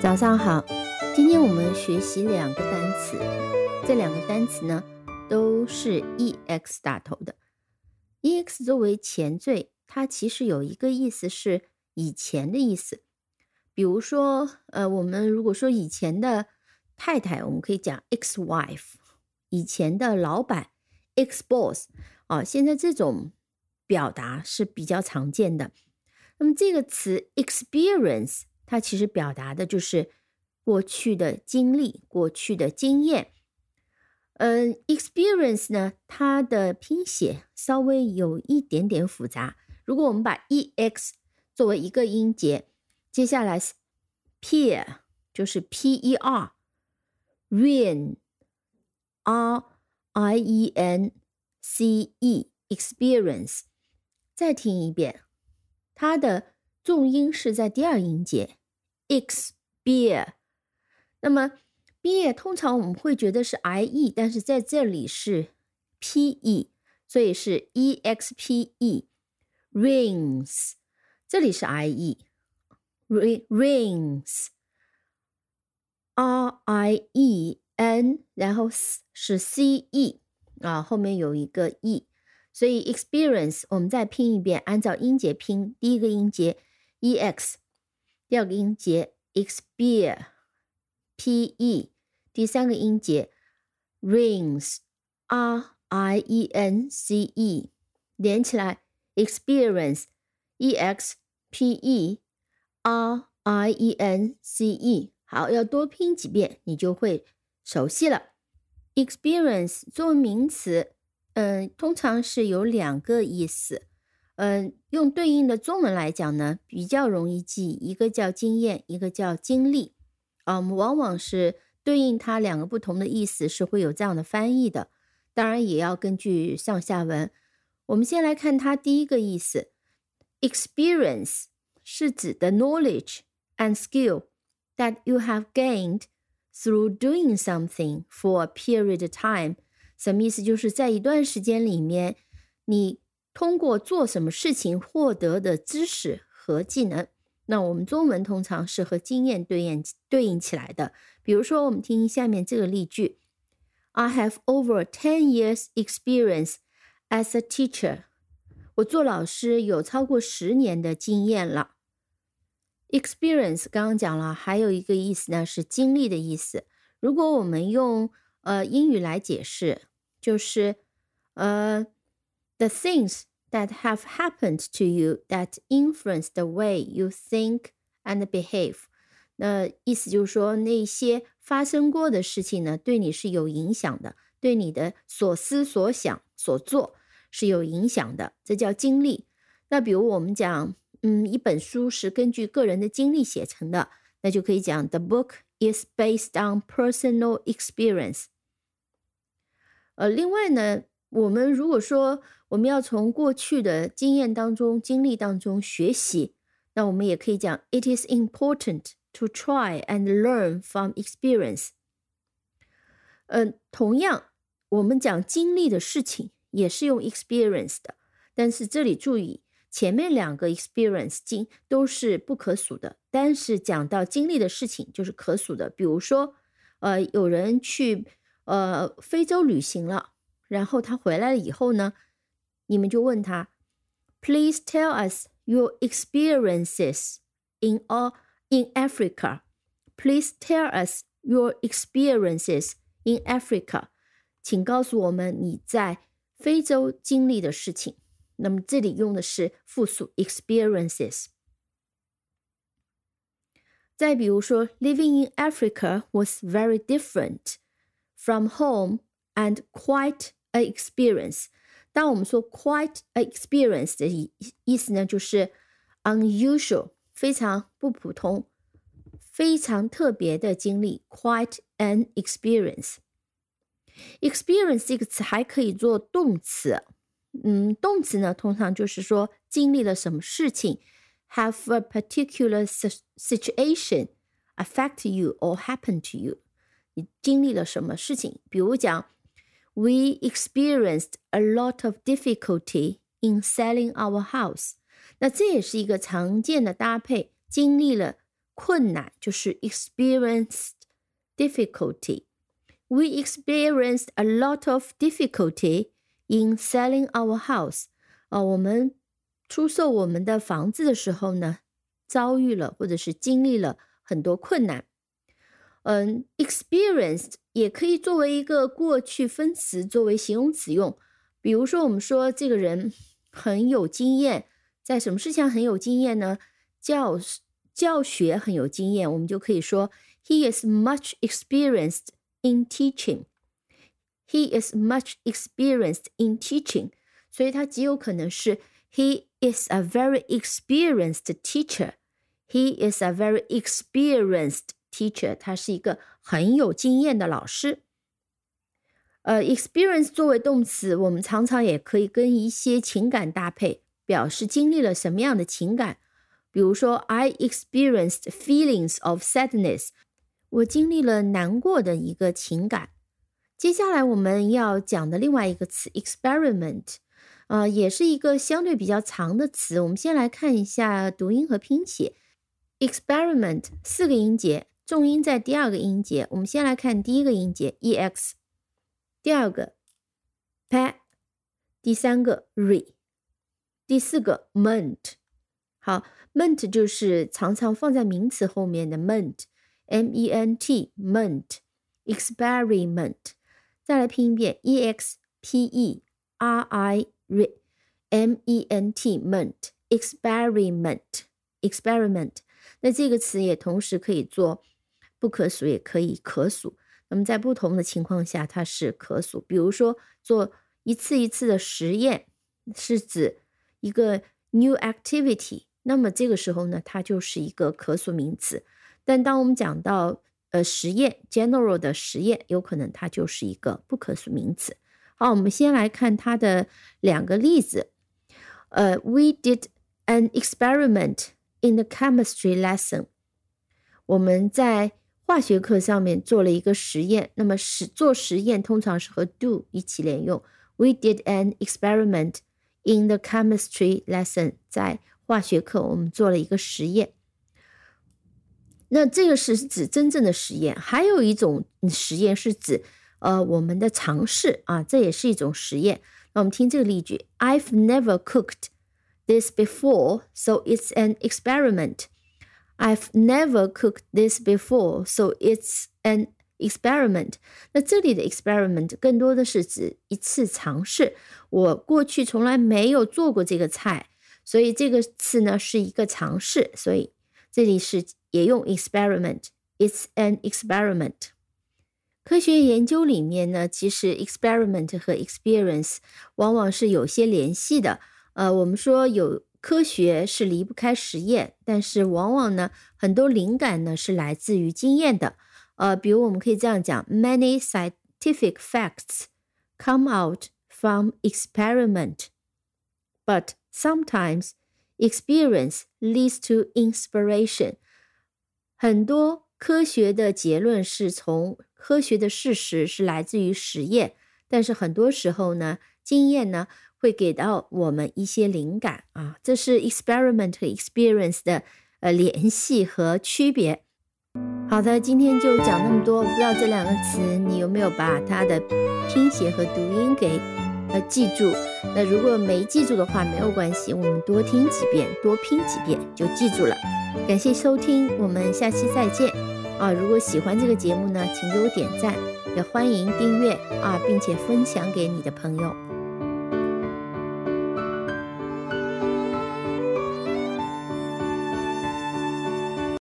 早上好，今天我们学习两个单词，这两个单词呢都是 ex 打头的。ex 作为前缀，它其实有一个意思是以前的意思。比如说，我们如果说以前的太太，我们可以讲 ex-wife， 以前的老板 ex-boss， 现在这种表达是比较常见的。那么这个词 experience， 它其实表达的就是过去的经历、过去的经验。experience 呢，它的拼写稍微有一点点复杂。如果我们把 ex 作为一个音节，接下来 peer 就是 per， rien r-i-e-n-c-e experience， 再听一遍，它的重音是在第二音节 ex-beer。 那么 beer 通常我们会觉得是 ie， 但是在这里是 pe， 所以是 expe rings， 这里是 ie rings r-i-e-n， 然后是 ce， 后面有一个 e， 所以 experience 我们再拼一遍，按照音节拼，第一个音节 ex， 第二个音节 expeer pe， 第三个音节 rings r-i-e-n-c-e， 连起来 experience expe r-i-e-n-c-e。 好，要多拼几遍你就会熟悉了。 experience 作为名词，通常是有两个意思。用对应的中文来讲呢，比较容易记，一个叫经验，一个叫经历。我们往往是对应它两个不同的意思，是会有这样的翻译的，当然也要根据上下文。我们先来看它第一个意思， experience 是指的 knowledge and skill that you have gained through doing something for a period of time。 什么意思？就是在一段时间里面，你通过做什么事情获得的知识和技能。那我们中文通常是和经验对应起来的。比如说我们听下面这个例句， I have over 10 years experience as a teacher。 我做老师有超过10年的经验了。 experience 刚刚讲了，还有一个意思呢是经历的意思。如果我们用英语来解释，就是the things that have happened to you that influence the way you think and behave。 那意思就是说，那些发生过的事情呢，对你是有影响的，对你的所思所想所做是有影响的，这叫经历。那比如我们讲一本书是根据个人的经历写成的，那就可以讲 The book is based on personal experience。 另外呢，我们如果说我们要从过去的经验当中、经历当中学习，那我们也可以讲 It is important to try and learn from experience。 同样我们讲经历的事情也是用 experience 的，但是这里注意，前面两个 experience 都是不可数的，但是讲到经历的事情就是可数的。比如说有人去非洲旅行了，然后他回来了以后呢，你们就问他 Please tell us your experiences in Africa。 Please tell us your experiences in Africa。 请告诉我们你在非洲经历的事情。那么这里用的是复数 experiences。 再比如说 Living in Africa was very different from home and quite an experience。 当我们说 quite an experience 的意思呢，就是 unusual， 非常不普通，非常特别的经历， quite an experience。 experience 这个词还可以做动词，动词呢通常就是说经历了什么事情， have a particular situation affect you or happen to you， 你经历了什么事情。比如讲 We experienced a lot of difficulty in selling our house。 那这也是一个常见的搭配，经历了困难，就是 experienced difficulty. We experienced a lot of difficulty in selling our house. 我们出售我们的房子的时候呢，遭遇了或者是经历了很多困难。experienced 也可以作为一个过去分词，作为形容词用。比如说我们说这个人很有经验，在什么事情很有经验呢？教学很有经验，我们就可以说 He is much experienced in teaching. He is much experienced in teaching. 所以它极有可能是 He is a very experienced teacher. He is a very experienced teacher. 他是一个很有经验的老师。experience 作为动词，我们常常也可以跟一些情感搭配，表示经历了什么样的情感。比如说 I experienced feelings of sadness. 我经历了难过的一个情感。接下来我们要讲的另外一个词 experiment，也是一个相对比较长的词。我们先来看一下读音和拼写。experiment 4个音节，重音在第2个音节。我们先来看第1个音节 ex， 第2个 p， 第3个 re， 第4个 ment。 好， ment 就是常常放在名词后面的 ment， ment ment experiment。 再来拼一遍 experiment ment experiment。 那这个词也同时可以做不可数也可以可数，那么在不同的情况下它是可数。比如说做一次一次的实验是指一个 new activity， 那么这个时候呢它就是一个可数名词。但当我们讲到实验 general 的实验，有可能它就是一个不可数名词。好，我们先来看它的2个例子。We did an experiment in the chemistry lesson. 我们在化学课上面做了一个实验，那么做实验通常是和 do 一起连用。We did an experiment in the chemistry lesson. 在化学课我们做了一个实验。那这个是指真正的实验，还有一种实验是指我们的尝试啊，这也是一种实验。那我们听这个例句 I've never cooked this before, so it's an experiment. I've never cooked this before, so it's an experiment. 那这里的 experiment 更多的是指一次尝试，我过去从来没有做过这个菜，所以这个词呢是一个尝试，所以这里是也用 experiment. It's an experiment. 科学研究里面呢，其实 experiment 和 experience 往往是有些联系的。我们说有科学是离不开实验，但是往往呢，很多灵感呢是来自于经验的。比如我们可以这样讲 Many scientific facts come out from experiment, but sometimes experience leads to inspiration. 很多科学的结论是从科学的事实是来自于实验，但是很多时候呢，经验呢会给到我们一些灵感啊，这是 experiment 和 experience 的联系和区别。好的，今天就讲那么多，我不知道这2个词你有没有把它的拼写和读音给记住。那如果没记住的话没有关系，我们多听几遍，多拼几遍就记住了。感谢收听，我们下期再见如果喜欢这个节目呢，请给我点赞，也欢迎订阅并且分享给你的朋友。